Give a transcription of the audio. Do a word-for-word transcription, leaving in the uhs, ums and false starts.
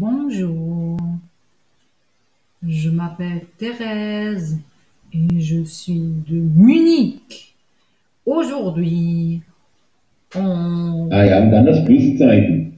Bonjour, je m'appelle Thérèse et je suis de Munich. Aujourd'hui, on... Ah ja, und dann das Pluszeichen.